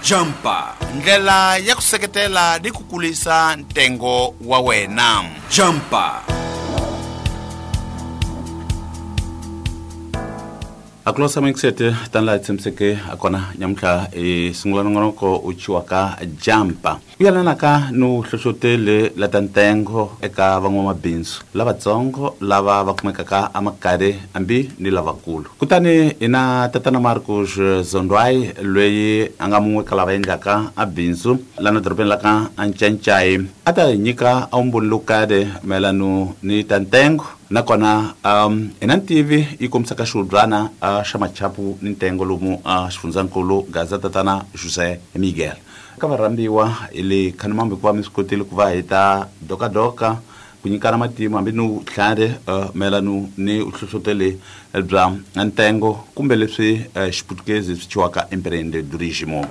Jampa, ndlela ya ku seketela ni ku kulisa ntengo wa wena. Jampa. Aklosa mixete tanla tsemseke akona nyamhla singulana ngonoko uchiwaka Jampa. Uyalana ka no hlohlotele la tantengo eka van'wamabindzu lavatsongo lava va kumekaka amakare ambi ni lavakulu. Kutani ina tatana Marcus Zondwai loyi anga mun'we ka lava endlaka abindzu lana dorobeni la ka Anchanchay ata nyika aumbulukade melanu ni tantengo nakona ina TV ikomisaka xudlwana xa machapu ni ntengo lomu xifundzakulu Gaza tatana Jose Miguel ka varambiwa ile khanimambe ku va mi swi kotile ku va hita doka ku nyikana matimu hambi no tlhare melanu ni uhlohlotele bya ntengo kumbe leswi xiputukezi swi chiwaka empreendedorismo.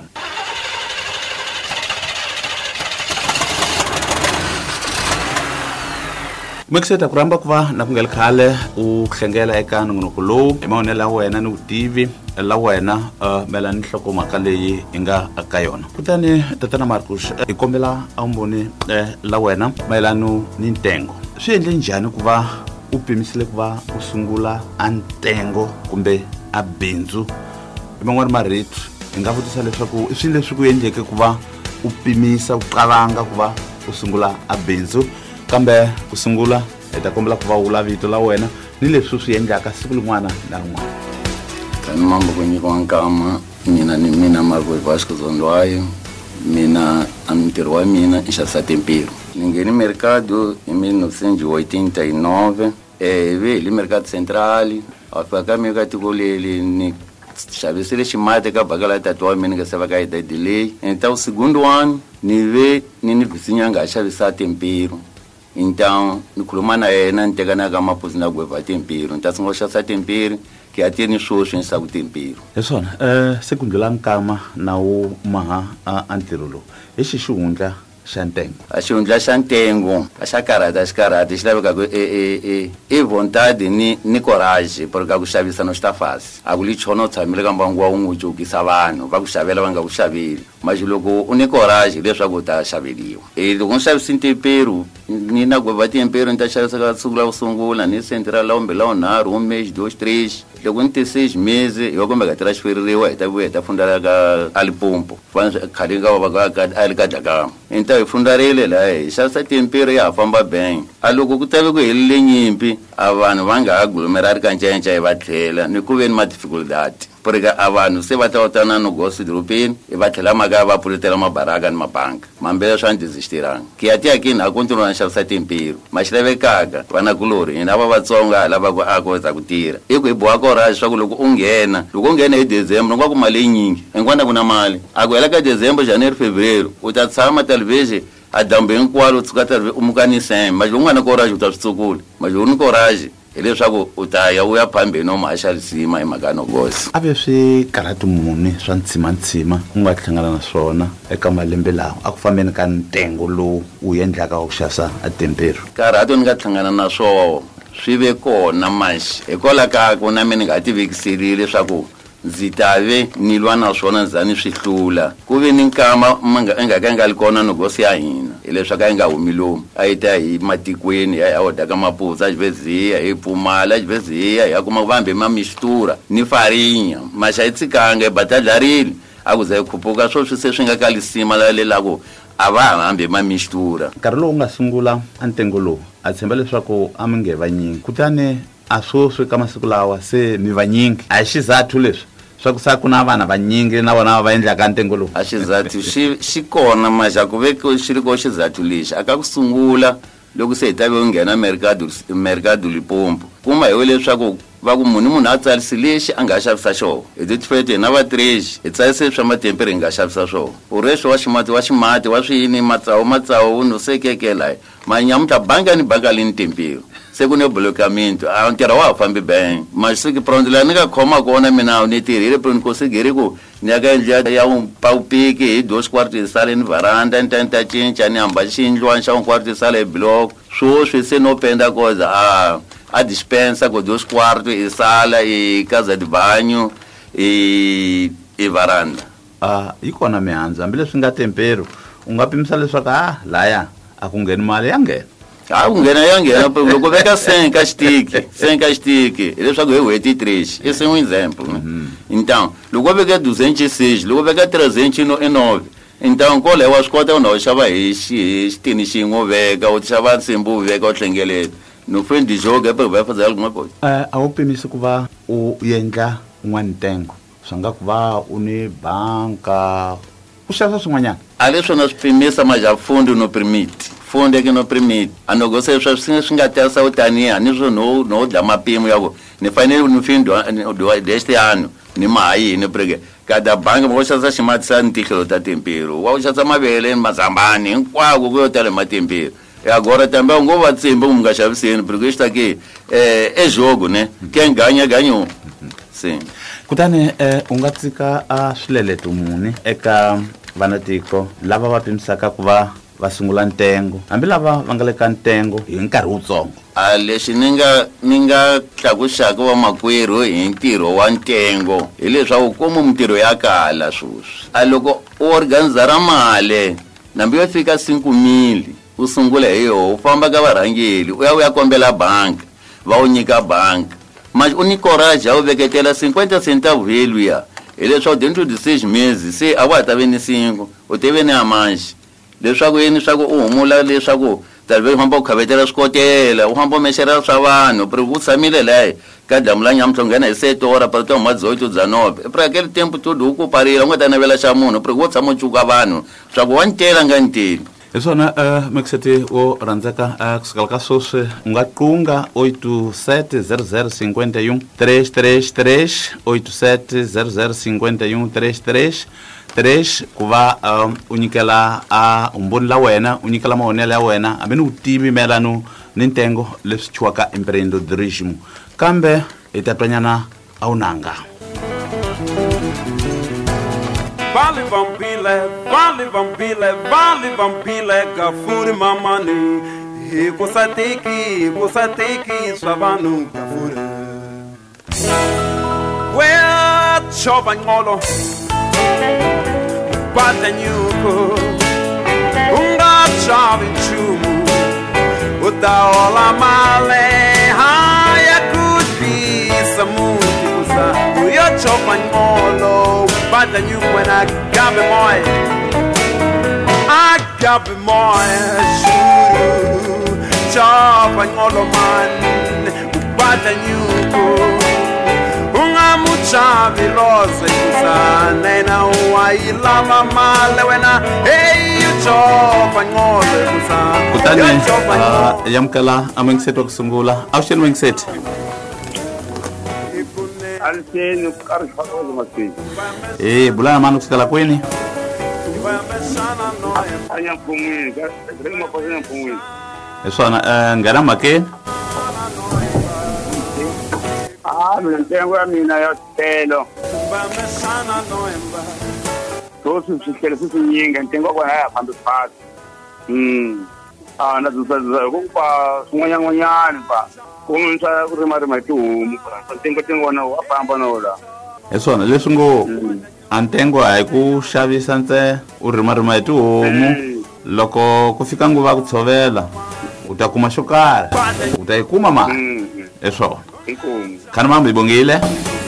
Mexeta kuramba kuva na kungela khale u hlengela eka nongonoko lowu emaonela wena ni vutivi la wena melani nhlokomhaka leyi i nga aka yona. Kutani tatana Marcus ikombela aumboni la wena mayelano ni ntengo. Swi endle njhani ku va u pimisile ku va u sungula a ntengo kumbe a bindzu? Man'wana marito hi nga vutisa leswaku i swilo leswi ku endleke ku va u pimisa u qalanga ku va u sungula a bindzu kambe ku sungula eta kombela ku va vula vito la wena ni leswi swi endlaka siku lin'wana na rin'wana. Kani mambo ku nyikiwa nkama mina Marcus Vasco Zondwai mina amintirho wa mina i xavisa tempero. Ni ngheni mercado hi 1989 ivi hi mercado central afika ka mina ka tiko leli ni xavisile ximati ka bakala tatu wa mina ka seva ka ida delay então o segundo ano ni ve ni vizinhanga a xavisa tempero. Então, no Kulumana não tem nada mais para fazer com tempero. Então, se nós achamos tempero, que até nem só sem saber tempero. É só, segundo lá cama na o maha anterolo. Esse chunga chantengo. A chunga chantengo, a chacarada, as caradas, leva que vontade ni coragem, porque a chavisa não está fácil. A gulicho não sabe, me lembra um ujo que savano, vai chavela vanga o chavir. Mas logo une coragem, deixa eu botar chaverio. E do chave sem tempero, ni na guava tempero, então chave se sugla o sungula, ni central lá um mês, 2, 3. Logo em 6 meses, eu como que transferir eu tá fundar ali pompo. Faz caringa o baga ali cada. Então eu fundar ele lá, chave tempero ia famba bem. A logo que tava com ele lenhimpi, avano vanga aglomerar cancha e batela, ni kuven uma dificuldade. Porque avano se vai estar no negócio de europeu e vai ter lá uma gava por ter uma baraga numa banca. Mas já desistirão. Que até aqui não continua a chave tempero, mas deve caga, vai na color, e na baba tsonga, lá vai a coisa que tira. E que boa coragem, só que logo ungena em dezembro, não vai com uma linha, enquanto não male. Agora que dezembro, janeiro, fevereiro, o tatsama talvez a dambe um quadro o mucanicem, mas não na coragem o tatsukul, mas não coragem. Ele sabe o taia o ya pambe no mashal sima imagano gosi. Ave swi karatu muni swa ntsima unga hlangana na swona eka malembe lawa a ku fambeni ka ntengo lowu u endlaka ku xavisa a tempero. Karatu ni nga hlangana na swo swi ve kona manxi hikola ka ku na mina nga tivikisirile leswaku ndzi tave ni lwa na swona ndzani swi hlula ku ve ni nkama nga likona nogosi ya hina hileswaku a yi nga humi lomu a yi ta hi matikweni ya odaka maputsa xiveziya hi pfumala xiveziya ya kuma vambe ma mistura ni farinha maxa yi tsikanga batadlarile a ku za yi khuphuka swo swi se swi nga kalisima lalelaku a va hambe ma mistura. Nkarhi lowu nga sungula a ntengo lowu a tshemba leswaku a mi nge vanyingi kutani a swi ka masiku lawa se mi vanyingi a hi xizathu leswi swa ku sa ku na vana vanyingi na vona va endlaka ntengo lowu. A xizathu xi kona maxa ku veke xi ri ko xizathu lexi aka ku sungula loko se hi ta ve u nghena mercado Limpopo kuma hi leswaku va ku munhu a tsarisi lexi a nga xavisa xona hi tifete na va 3 hi tsarise swa matempere hi nga xavisa swona u reswo wa ximati wa swiyini matsawu no sekekela manyamuta banga ni lini tempero se ku ne blokamento a ntirho wa fambi bem mas se que pronto lá nunca khoma kona mina ni tirhile pronto conseguir ku ni aka endla ya pau pique hi 2 quartos de sala ni varanda ntanta cinca ni hamba xindlwana xa 1 quarto de sala hi block swi se no penda coisa a dispensa com 2 quartos e sala e casa de banho e varanda yi kona mihandzu hambileswi nga tempero u nga pimisa leswaku laya a ku ngheni mali ya nghena ku nghena ya nghena loko veka 100 ka xitiki hileswaku hi n'hweti 3 esse é um exemplo, né? Então loko veka 206 loko veka 309 então koleyo wa swi kota u na u xava hi xitini xin'we u veka u xava nsimbi u veka u hlengeleta no fende joga para vai fazer alguma coisa. A wu pimisi ku va u endla un'wana ntengo swi nga ku va u ni banka u xavisa swin'wanyana a leswi na swi pimisa mas a fundo não permite. Fundo é que não permite. A negociação swi nga tesa u taniya ni swo no dya mapimo ya ku ni fanele no fim deste ano ni mayi ni porque cada banca vou xavisa ximatisa ntihlo ta tempero wa u xavisa mavele mazambani hinkwako ku yo tala matempero. E agora também não vai ser bom nga xaviseni porque isto aqui é jogo, né? Quem ganha ganhou. Sim. Kutani u nga tsika a swileleto muni eka vanatiko lava va pimisaka ku va sungula ntengo hambi lava va nga le ka ntengo hi nkarhi wutsongo. Lexi ni nga tlakuxaka vamakwerhu hi ntirho wa ntengo hileswaku kuma mintirho ya kala sweswi a loko u organizara mali nambi yo fika 5,000 u sungula hi yoho u famba ka varhangeli u ya kombela banka va u nyika banka mas u ni coragem ya u veketela 50 centavos veluya hileswaku dentro de 6 meses se a wa ta ve ni 5 u teve ni a mais leswaku yini swaku u humula leswaku talvez u famba u khavetela swikotela u famba u mexela swa vanhu porque u tshamile laha ka damu la nyamutlha u nghena hi 7 horas para toma 18 19 para aquele tempo todo u ku parile u nga ta navela xa munhu porque u tshama u cuka vanhu swaku wa ntela nga nteli. Hi swona Mekiseti wo rhandzeka kusukela ka sweswi u nga qunga 870051 333 870051 333 ku va u nyikela umboni la wena u nyikela mahonelo ya wena hambi ni u tivi mayelano ni ntengo leswi chiwaka empreendedorismo kambe hi ta twanyana a wu nanga. Vale vampile, gafuri mamani. Kusatiki, swabanu gafuri. Well, chobanyolo, badanyuko, unga chavinchumu, utaola male, haya kupi samuti kusa, uyo chobanyolo. But then you when I got me more shoot chop and all of man but then you go unga mucha vilose sana na wai lama male when I hey you chop and all of kutani yamkala amengseto kusungula ausheni mengset Alseni karifalo masi. Bulana manu kusukela kweni. Anya pumwi, grema pazina pumwi. Eswana ngana make. Mlentengo mina ya telo. Tosu sikele futhi nyinga ntengo kwa haya phambi phasi. Na zuza kumpa sunganyangonyani pa. Kumsa urima tumu ntengo na wafamba nola. Eswana leswi ngo antengo a hi ku xavisa ntsena u rima hi tihomu loko ku fika nguva ku tshovela u ta kuma xo karhi u ta yi kuma mali eswona khani mambe hi bongile.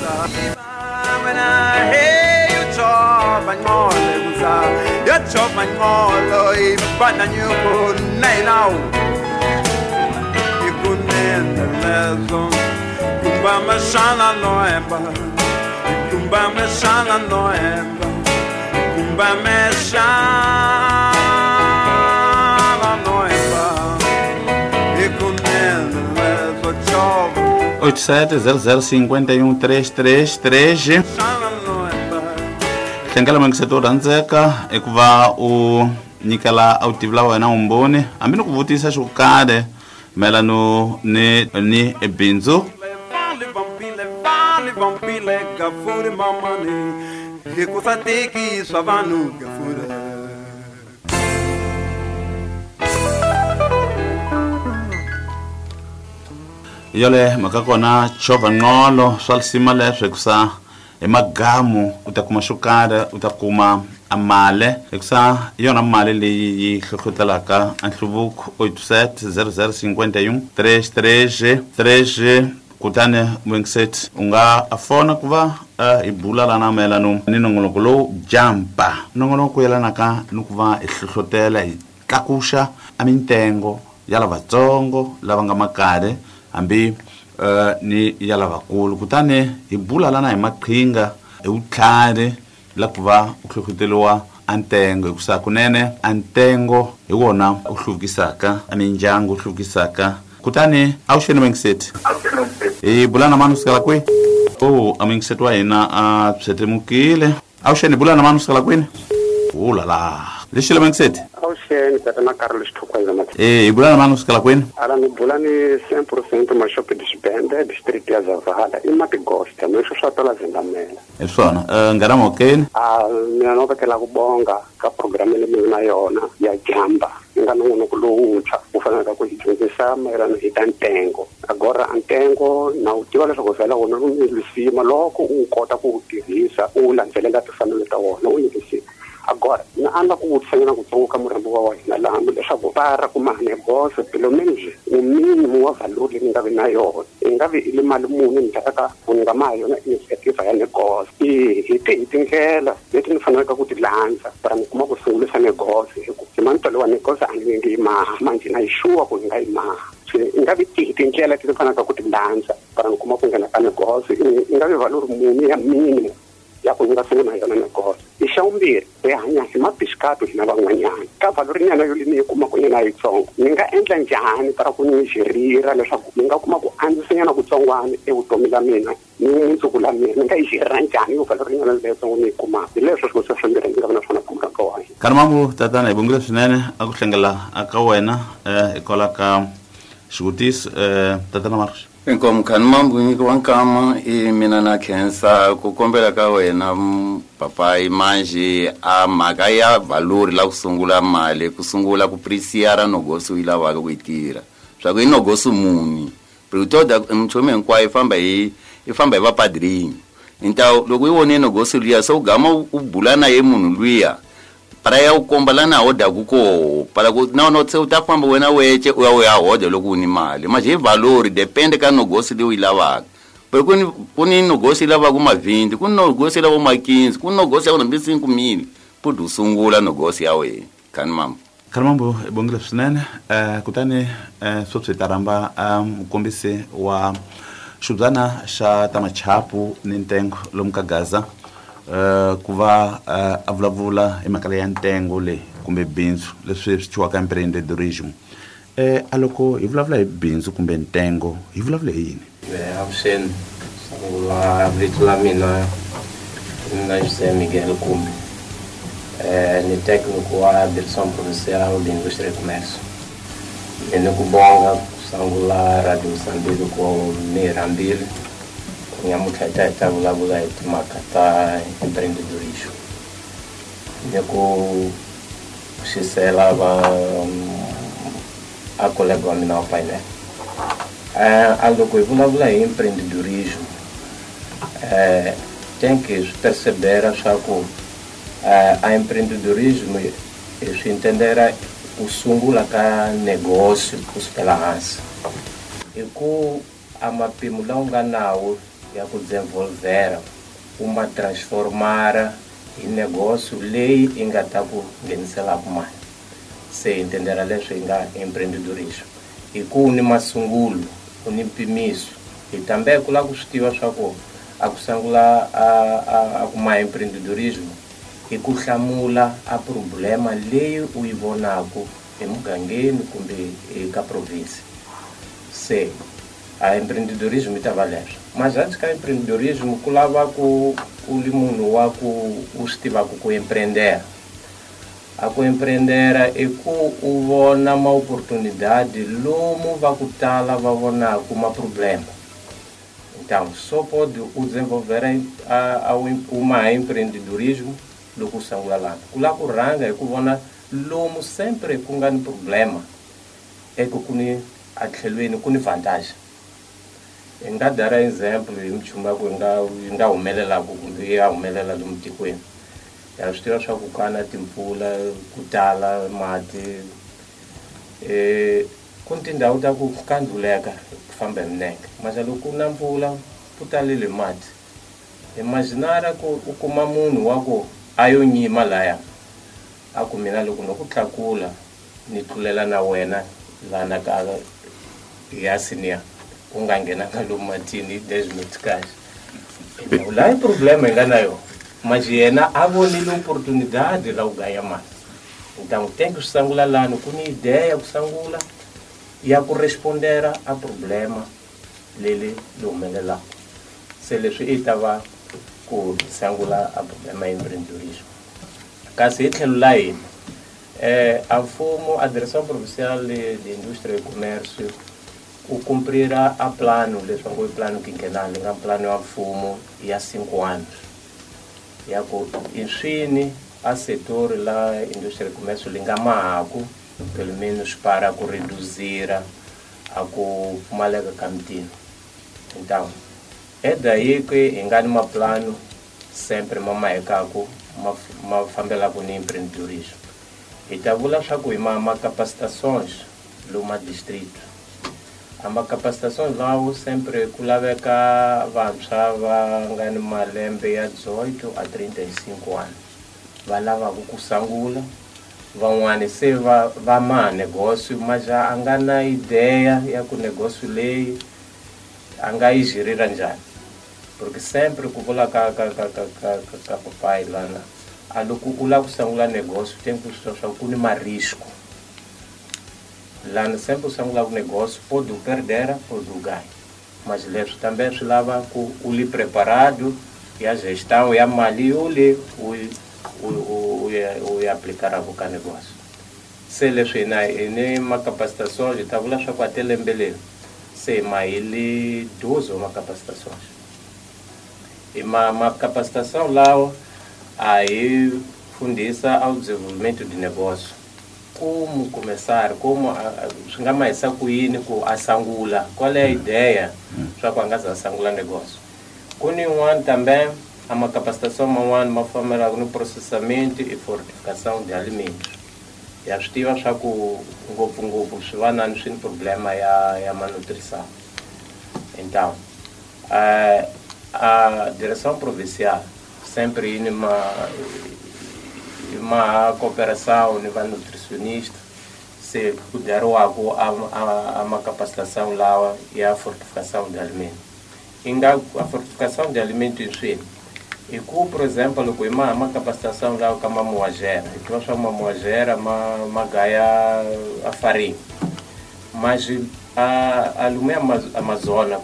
Kumbameshana noemba, ikunenelezo chova 870051 hlengela Mekiseti rhandzeka i ku va u nyikela a wu tivi la wena umboni hambi ni ku vutisa xo karhi mayelano ni bindzu. Vampile gafuri mamani kusatiki swabanu gafuri. Yole makakona chova ngolo swal sima leswi kusa magamu u ta kuma swo karhi u ta kuma a mali hikusa yona mali leyi yi hlohlotelaka a nhluvuko 87 0051 33 kutani Winxet u nga fona ku va hi bula lana mayelano ni nongonoko lowu jampa nongonoko yelanaka ni ku va hi hlohlotela hi tlakuxa a mitengo ya lavatsongo lava nga makare hambi ni ya lavakulu kutani hi bula lana hi maqhinga hi vutlhari la ku va u hlohloteriwa a ntengo hikusa kunene a ntengo hi wona u hluvukisaka a mindyangu u hluvukisaka kutani a wu xeni Winxet hi bula na mani kusukela kwihi a Winxet wa hina a pshetemukile a wu xeni hi bula na mani kusukela kwini ulala lexi le Winxet Auxene, Tatana Carlos Tukwaiza Mati. hi bula na mani kusukela kwini Ala ni bula ni 100% mashopi disbande, district ya Zavahala, imati gosta, mesho shatola zingamela. hi swona ngarama okeni Mina novekela kubonga ka programme leyi na yona ya jamba. Nga nongonoko lowuntshwa wu fanelaka ku hi dyondzisa mayelana hi ta ntengo. Agora ntengo na wu tiva leswaku vhela wona wu nyikisima loko u kota ku wu tirhisa u landzelela timfanelo ta wona u nyikisima. Agora na anda ku wutsanyana ku tsoka murambo wa wena laha leswaku para ku mahane boss pilomeni minimum wa value leyi nga vi na yona nga vi ile mali muni ni taka ku nga ma yona initiative ya negos hi tindlela leti ni fanelaka ku ti landza para ni kuma ku sungulisa negos hi mantolo wa negos a ni ngi manje na sure ku nga ima nga vi tindlela leti ni fanelaka ku ti landza para ni kuma ku nghena ka negos nga vi value muni ya minimum ya ku nga sungula yona negos ixawumbirhi hi hanya hi mabisikato hina van'wanyana ka valori nyana yo leyi ni yi kumaka nyana yitsongo ni nga endla njhani para ku ni xirira leswaku ni nga kuma ku andzisanyana kutsongwana evutomi la mina ni mundzuku la mina ni nga yi xirira njhani yo valori nyana leyitsongo ni yi kumaka hi leswo swilo swimbirhi ni nga va na swona kumeka ka wena kani mambu tatana hi bongile swinene a ku hlengela aka wena hikwalaho ka xivutiso tatana Marcos Inkomu khani mambu nyikiwa nkama mina na khensa ku kombela ka wena papai manje a mhaka ya valori la ku sungula mali ku sungula ku prisiara nogosi u yi lavaka ku yi tirha swa ku i nogosi muni pritoda mchomi hinkwayo i famba hi vapadrini loko i wone nogosi luya se u gama u bula na ye munhu luya para ya u komba lana a hodaku koho para ku na se u ta famba wena weche u ya hoda loko u ni mali manje hi valori depende ka nogosi leyi u yi lavaka porque ku ni nogosi lavaka ma 20 ku nogosi lavaka ma 15 ku nogosi ya ku 5,000 puti u sungula nogosi ya wena khani mama khani mambu hi bongile swinene kutani sweswi hi ta rhamba mukombisi wa xibudzana xa ta machapu ni ntengo lomu ka Gaza ku va a vulavula hi mhaka ya ntengo leyi kumbe bindzu leswi swi chiwaka empreendedorism a loko hi vulavula hi bindzu kumbe ntengo hi vulavula hi yini avuxeni sungula vito la mina na José Miguel Kumbi ni técnico wa direção provincial de indústria e comércio ni ku bonga sungula radio Moçambique ko mirambili nyamutlha ta vulavula hi timhaka ta empreendedorismo ni ku xisela a colega wa mina wa painel loko hi vulavula hi empreendedorismo tem que perceber swa ku a empreendedorismo swi entendera ku sungula ka negócio kusukela hansi hi ku a mapimo lawa nga nawu ya ku desenvolvera uma transformara hi negócio leyi i nga ta ku ngheniselaku mali se entendera leswi hi nga empreendedorismo hi ku ni masungulo u ni mpimiso hi tambe ku la ku swi tiva swa ku a ku sungula a ku ma empreendedorismo hi ku hlamula a problema leyi u yi vonaku emugangeni kumbe eka province se a empreendedorismo yi ta va leswo mas antes ka empreendedorismo ku lava ku li munhu wa ku u swi tivaku ku empreendera a ku empreendera i ku u vona ma-oportunidade lomu va ku tala va vonaku ma-problema então só pode o desenvolver uma empreendedorismo loko u sungula lana ku la ku rhanga hi ku vona lomu sempre ku nga ni problema eku ku ni a tlhelweni ku ni vantagem nga dara exemplo hi minchumu ku nga humelelaku kumbe ya humelela lomu tikweni ya swi tiva swa ku kana timpfula ku tala mati ku ni tindhawu ta ku kandzuleka ku famba hi milenge mara loko na mpfula ku talile mati imaginara ku u kuma munhu wa ku a yo nyima laya a ku mina loko no ku tlakula ni tlulela na wena lana ka ya senior u nga nghenanga lomu matini there's no cash la problema nga nayo mas yena a vonile oportunidade la ku ganha mali então tem que sangula lano ku ni ideia ku sangula ya ku respondera a problema lele lo humelelaka se leswi i tava ku sangula a problema ya empreendedorismo kasi hi tlhelo la hina a mfumo a direção provincial de indústria e comércio o cumprir a plano leswaku i plano quinquenal nga plano ya mfumo ya 5 anos ya ku inswini a setor la indústria e comércio linga mahaku pelo menos para ku reduzir a ku pfumaleka ka mintirho então é daí que hi nga ni maplano sempre ma mahekaku ma fambelaku ni empreendedorismo hi ta vula swa ku hi ma capacitações luma distrito a ma capacitações lawo sempre ku laveka vantshwa va nga ni malembe ya 18 a 35 anos va lavaku ku sangula van'wani se va maha negócio mas a nga na ideia ya ku negócio leyi a nga yi girira njhani porque sempre ku vula ka papai lana a loko u lava ku sangula negócio tem que swa ku ni marisco lana sempre u sangula negócio pode perder pode ganhar mas leswi também swi lava ku u li preparado ya gestão ya mali u aplicar a ka negócio se leswi ni ma capacitações ta vula swa ku até lembe leri se ma ele 12 uma capacitações e uma capacitação lá aí fundisa ao desenvolvimento de negócio como começar como chegar mais a cuine com a sangula qual é a ideia para quando a sangula negócio com um também há uma capacitação uma forma no processamento e fortificação de alimentos e a estiva já com um se vai não tem problema é a malnutrição então a direção provincial sempre uma cooperação nível nutricionista se puder a uma capacitação lá e a fortificação de alimentos a fortificação de alimentos em si e por exemplo com uma capacitação lá com uma moagera e que nós chamamos moagera uma gaia a farinha mas a lume Amazônia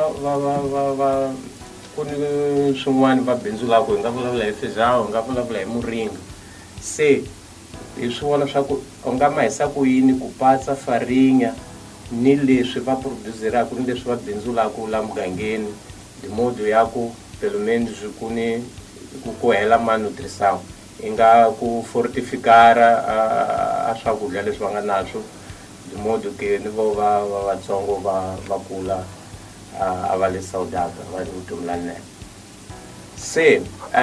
quando swin'wana va bindzula ku hi nga vulavula hi fejawu hi nga vulavula hi muringa se hi swi vona swa ku u nga ma hisa ku yini ku patsa farinha ni leswi va produzeraku ni leswi va bindzulaku la mugangeni de modo ya ku pelo menos ku hela malnutrição hi nga ku fortificar a swakudya leswi va nga naswo de modo que ni vo vatsongo va kula a vale saudável, vai no lane. Se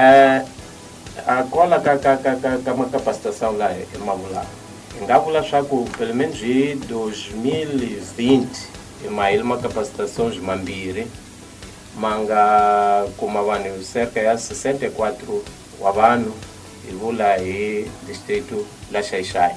a cola com uma capacitação lá é mamula. Engavula chaco pelo menos de 2020 e mais uma capacitação de mambire manga como avano cerca de 64 wabano e vula e distrito La Xaixai.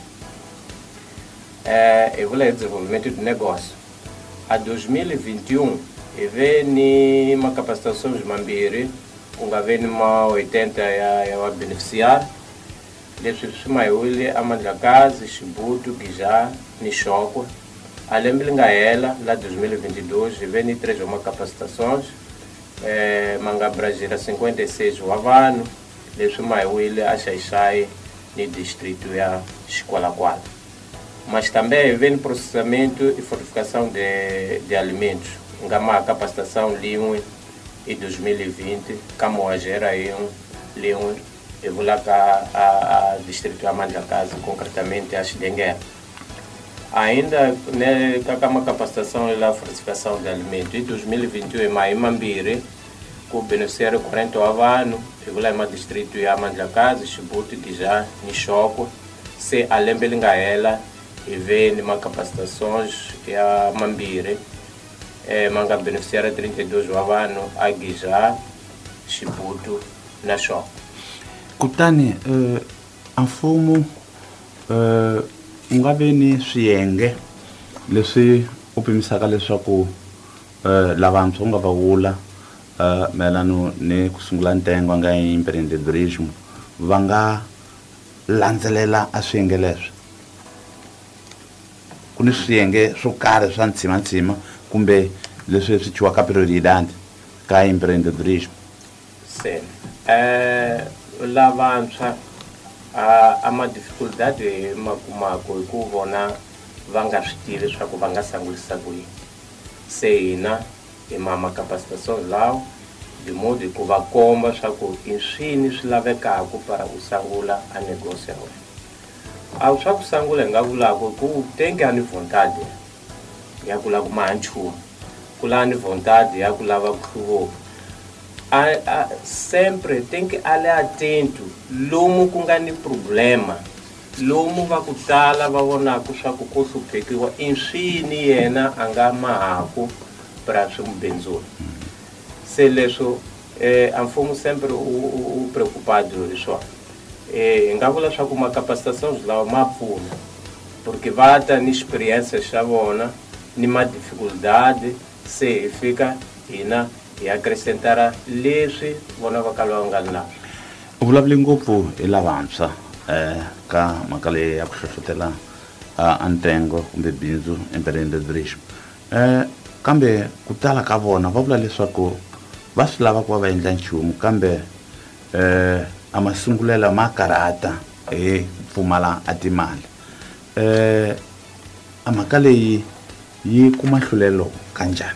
E vula desenvolvimento de negócio. A 2021 e vem uma capacitação de mambiri, vem uma 80 a beneficiar, desde o Maiuli, a Mandlakazi, Chibuto, Guijá, Nixoco, além de ela, lá 2022, e vem 3 uma capacitações, Manga Brasília 56 o Havano, desde o Maiuli, a Xaixai, no distrito da Escola 4. Mas também vem processamento e fortificação de alimentos. Uma capacitação Leon em 2020, Camoagera Leon, e vou lá a distrito Amanda Casa, concretamente a Chidenguer. Ainda né, com uma capacitação e a fortificação de alimentos, em 2021, mais Mambiri, com o beneficiário 40 anos, eu vou lá em distrito de Amandla Casa, Chibuto, Tijá, Nishoco, se além de ela, e vem uma capacitação e a Mambiri, manga beneficiário 32 anos, a Guijá, Chibuto, Nishoco. Kutani, a mfumo u nga ve ni swiyenge leswi u pimisaka leswaku lavantshwa u nga va vula mayelana ni ku sungula ntengo nga empreendedorismo va nga landzelela a swiyenge leswi ku ni swiyenge swo karhi swa ntshimantsima kumbe leswi swi chiwaka prioridade ka empreendedorismo? Lavantshwa ama dificuldade makumako hi ku vona va nga swi tivi leswaku va nga sangulisa ku yini. Se hina hi ma capacitação lawa de modo ku va komba swa ku i swini swi lavekaka para u sangula a negócio ya wena. A swa ku sangula hi nga vulaka ku tenke ani vontade ya ku lava ku maha nchumu, ku lava ni vontade ya ku lava ku hluvuka. Sempre tem que olhar atento lomu ku nga ni problema, lomu va ku tala va vonaka swa ku ko hluphekiwa i swini yena a nga mahaku para swi mu bindzula. Se leswo a mfumo sempre u preocupado hi swona. Hi nga vula swa ku macapacitação lawa ma pfuna porque va ta ni experiência xa vona ni ma dificuldade se hi fika hina hi acrescentara leswi vona va ka lava nga naswo. U vulavule ngopfu hi lavantshwa ka mhaka leyi ya ku hlohlotela a ntengo kumbe bindzu empreendedorismo, kambe ku tala ka vona va vula leswaku va swi lava ku va va endla nchumu kambe a masungulela ma karhata hi pfumala a timali. A mhaka leyi yi kuma nhlulelo kanjhani?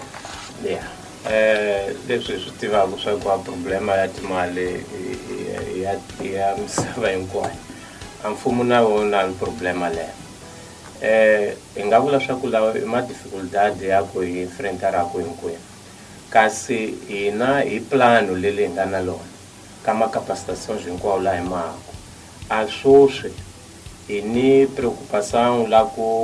Leswi swi tivaka swa ku a problema ya timali ya misava hinkwayo, a mfumo na wona ni problema leyo. Hi nga vula swa ku lawa i ma dificuldade ya ku hi enfrentaraka hinkwenu, kasi hina hi plano leli hi nga na lona ka macapacitações hinkwawo laha hi mahaka a swoswi hi ni preocupação la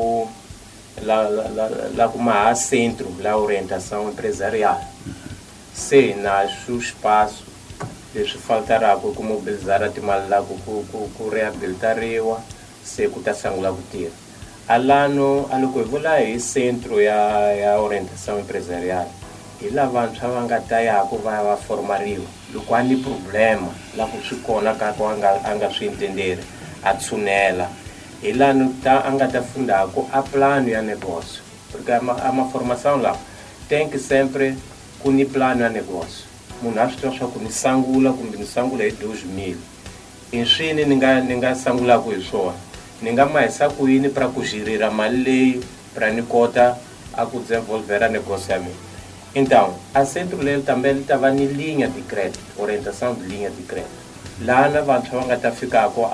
ku maha centro la orientação empresarial. Se nasce espaço leswi faltaraka ku mobilizar timali la ku reabilitariwa se ku ta sangula ku tirha. Alano aloko hi vula hi centro ya orientação empresarial hi la vantshwa va nga ta yaku va va formariwa loko a ni problema la ku swi kona ka ku a nga swi entenderi a tshunela hi lano a nga ta fundaku a plano ya negócio, porque a ma formação lá tem que sempre ku ni plano ya negócio. Munhu a swi tiva swa ku ni sangula kumbe ni sangula hi 2000 i swini ni nga sangulaku hi swona, ni nga mahisa ku yini para ku girira mali leyi para ni kota a ku desenvolvera negócio ya mina. Então, a centro lele também estava em linha de crédito, orientação de linha de crédito. Lá na vantshwa va nga ta fikako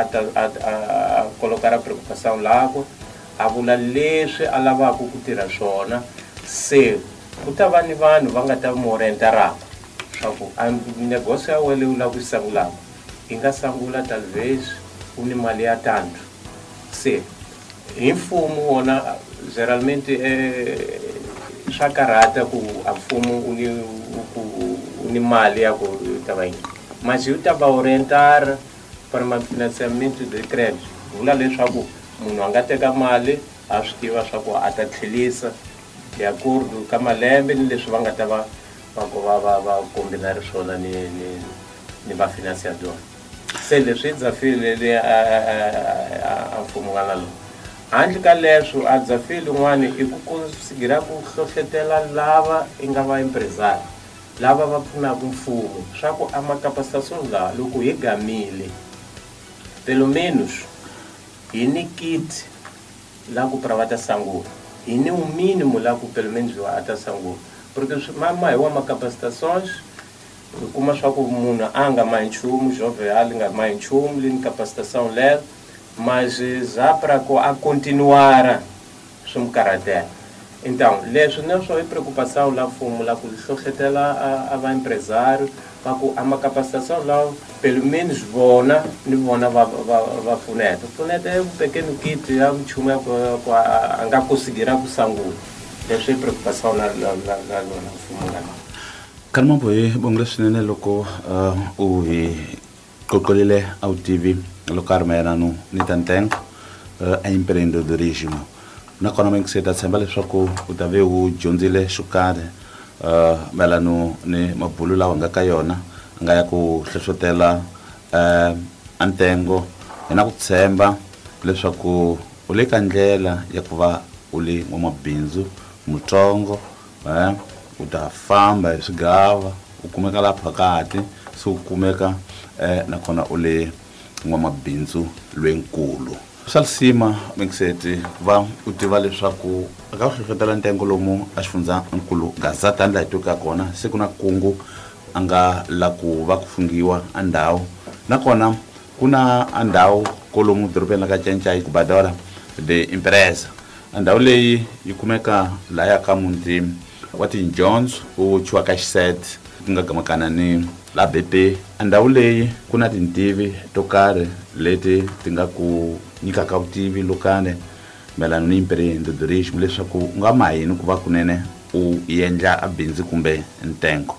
a colocar a preocupação lá, a vula leswi a lavaku ku tirha swona, se ku ta va ni vanhu va nga ta mu orientaraka swa ku a negócio ya wena leyi u lava ku yi sangulaka i nga sangula talvez u ni mali ya tanto. Se hi mfumo wona geralmente swa karhata ku a mfumo u ni mali ya ku ta va yini, mas u ta va orientar para financiamento de crédito. Vula leswaku munhu a nga teka mali a swi tiva swa ku a ta tlhelisa de acordo ka malembe ni leswi va nga ta va kombinari swona ni va financiador. Se leswi dzafile a mfumo nga na loko handle ka leswo a dzafile un'wana i ku konsigira ku hlohlotela lava i nga va empresário lava va pfunaka mfumo swa ku a macapacitação lawa loko hi gamile pelo menos hi ni kit la ku para va ta sangula, hi ni um mínimo la ku pelo menos va ta sangula, porque hi wa macapacitações kuma swa ku munhu a nga mahi nchumu jovial nga mahi nchumu lini capacitação lero mas já para a continuar some caráter. Então, leswo não só é preocupação lá fumo lá com o sociedade lá a empresário, para a uma capacitação lá pelo menos bona vai funeta. Funeta é pequeno kit, é chuma para anga conseguir a sangue. Leswo é preocupação lá fumo lá. Kalma boy bongla sinene loko o kokolile au TV lo karmera no nitanteng a empreendedorismo na economic seta sembale soko utave u jonzile shukade melano ne mabulula wanga kayona ngaya ku hlohlotela antengo ena ku tsemba leswaku ule kandlela ya kuva uli n'wamabindzu mutsongo utafamba esigava ukumeka la phakati so ukumeka nakhona ule n'wamabindzu lwenkulu salisima mengiseti va utiva leswaku aka hlohlotela ntengo lomu a xifundzankulu gazata ndla hitoka kona se ku na kungu a nga la ku va ku fungiwa a ndhawu nakona ku na a ndhawu kolomu dorobeni la ka Cencayi ku Badora de Empresa a ndhawu leyi yi kumeka laya ka muti wa tindyondzo u chiwa ka Xisete ku nga gamakana ni la BP a ndhawu leyi ku na tintivi to karhi leti ti nga ku nyikaka vutivi lokane melano ni empreendedorismo leswaku u nga mahini ku va kunene u endla a bindzu kumbe ntengo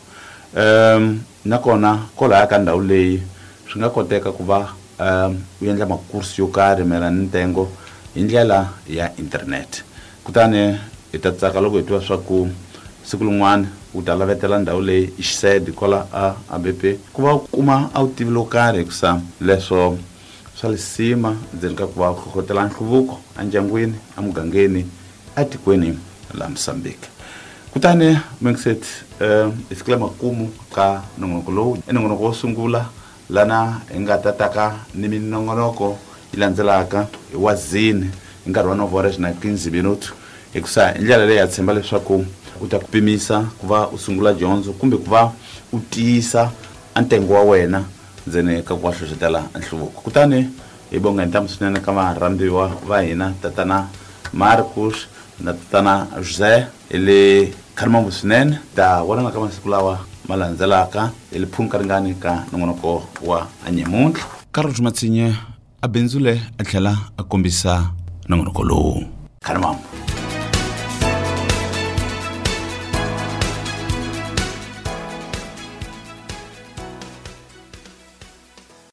nakona kolaya ka ndhawu leyi swi nga koteka ku va u endla makursi yo karhi melano ni ntengo hi ndlela ya internet kutani hi ta tsaka loko hi twa swa ku siku lin'wana u ta lavetela ndhawu leyi i Xisede kola a BP ku va u kuma a vutivi lo karhi hikusa leswo swa lisima ndzeni ka ku va u hlohlotela nhluvuko a ndyangwini a mugangeni a tikweni la Mozambique kutani mengiseti hi fikile makumu ka nongonoko lowu i nongonoko wo sungula lana hi nga tataka ni minongonoko yi landzelaka hi wazini hi nkarhi wa novhora na 15 minutu hikusa hi ndlela leyi ya tshemba leswaku u ta ku pimisa ku va u sungula dyondzo kumbe ku va u tiyisa a ntengo wa wena ndzeni ka ku va hlohlotela nhluvuko kutani hi bonga ntamu swinene ka varambiwa va hina tatana Marcus na tatana José ile kharmambo swinene ta vonana ka masiku lawa ma landzelaka hi li phunka ringani ka nongonoko wa anyemuntlha Carlos Matsinye a bindzu le a tlhela a kombisa nongonoko lowu kharmambo